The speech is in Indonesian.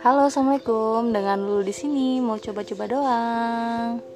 Halo, assalamualaikum. Dengan Lulu di sini mau coba-coba doang.